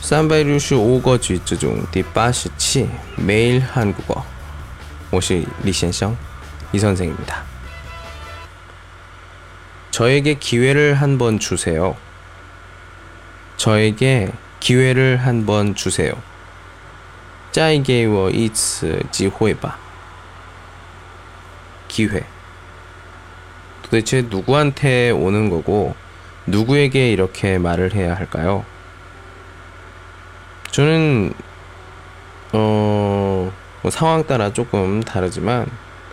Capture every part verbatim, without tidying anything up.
三百六十五个句子中第八十七 매일 한국어 我是李先生 이 선생입니다. 저에게 기회를 한번 주세요. 저에게 기회를 한번 주세요. 再给我一次机会吧. 기회. 도대체 누구한테 오는 거고 누구에게 이렇게 말을 해야 할까요? 저는 어, 뭐 상황 따라 조금 다르지만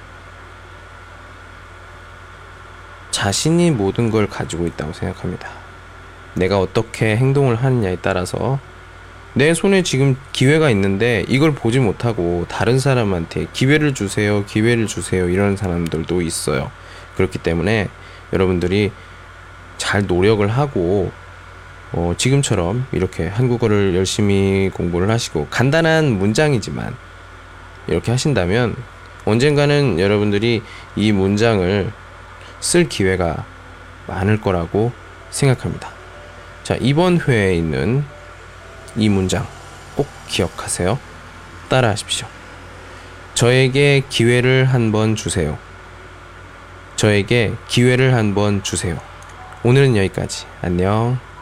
자신이 모든 걸 가지고 있다고 생각합니다. 내가 어떻게 행동을 하느냐에 따라서 내 손에 지금 기회가 있는데 이걸 보지 못하고 다른 사람한테 기회를 주세요, 기회를 주세요 이런 사람들도 있어요. 그렇기 때문에 여러분들이 잘 노력을 하고 어, 지금처럼 이렇게 한국어를 열심히 공부를 하시고 간단한 문장이지만 이렇게 하신다면 언젠가는 여러분들이 이 문장을 쓸 기회가 많을 거라고 생각합니다. 자, 이번 회에 있는 이 문장 꼭 기억하세요. 따라 하십시오. 저에게 기회를 한번 주세요. 저에게 기회를 한번 주세요. 오늘은 여기까지. 안녕.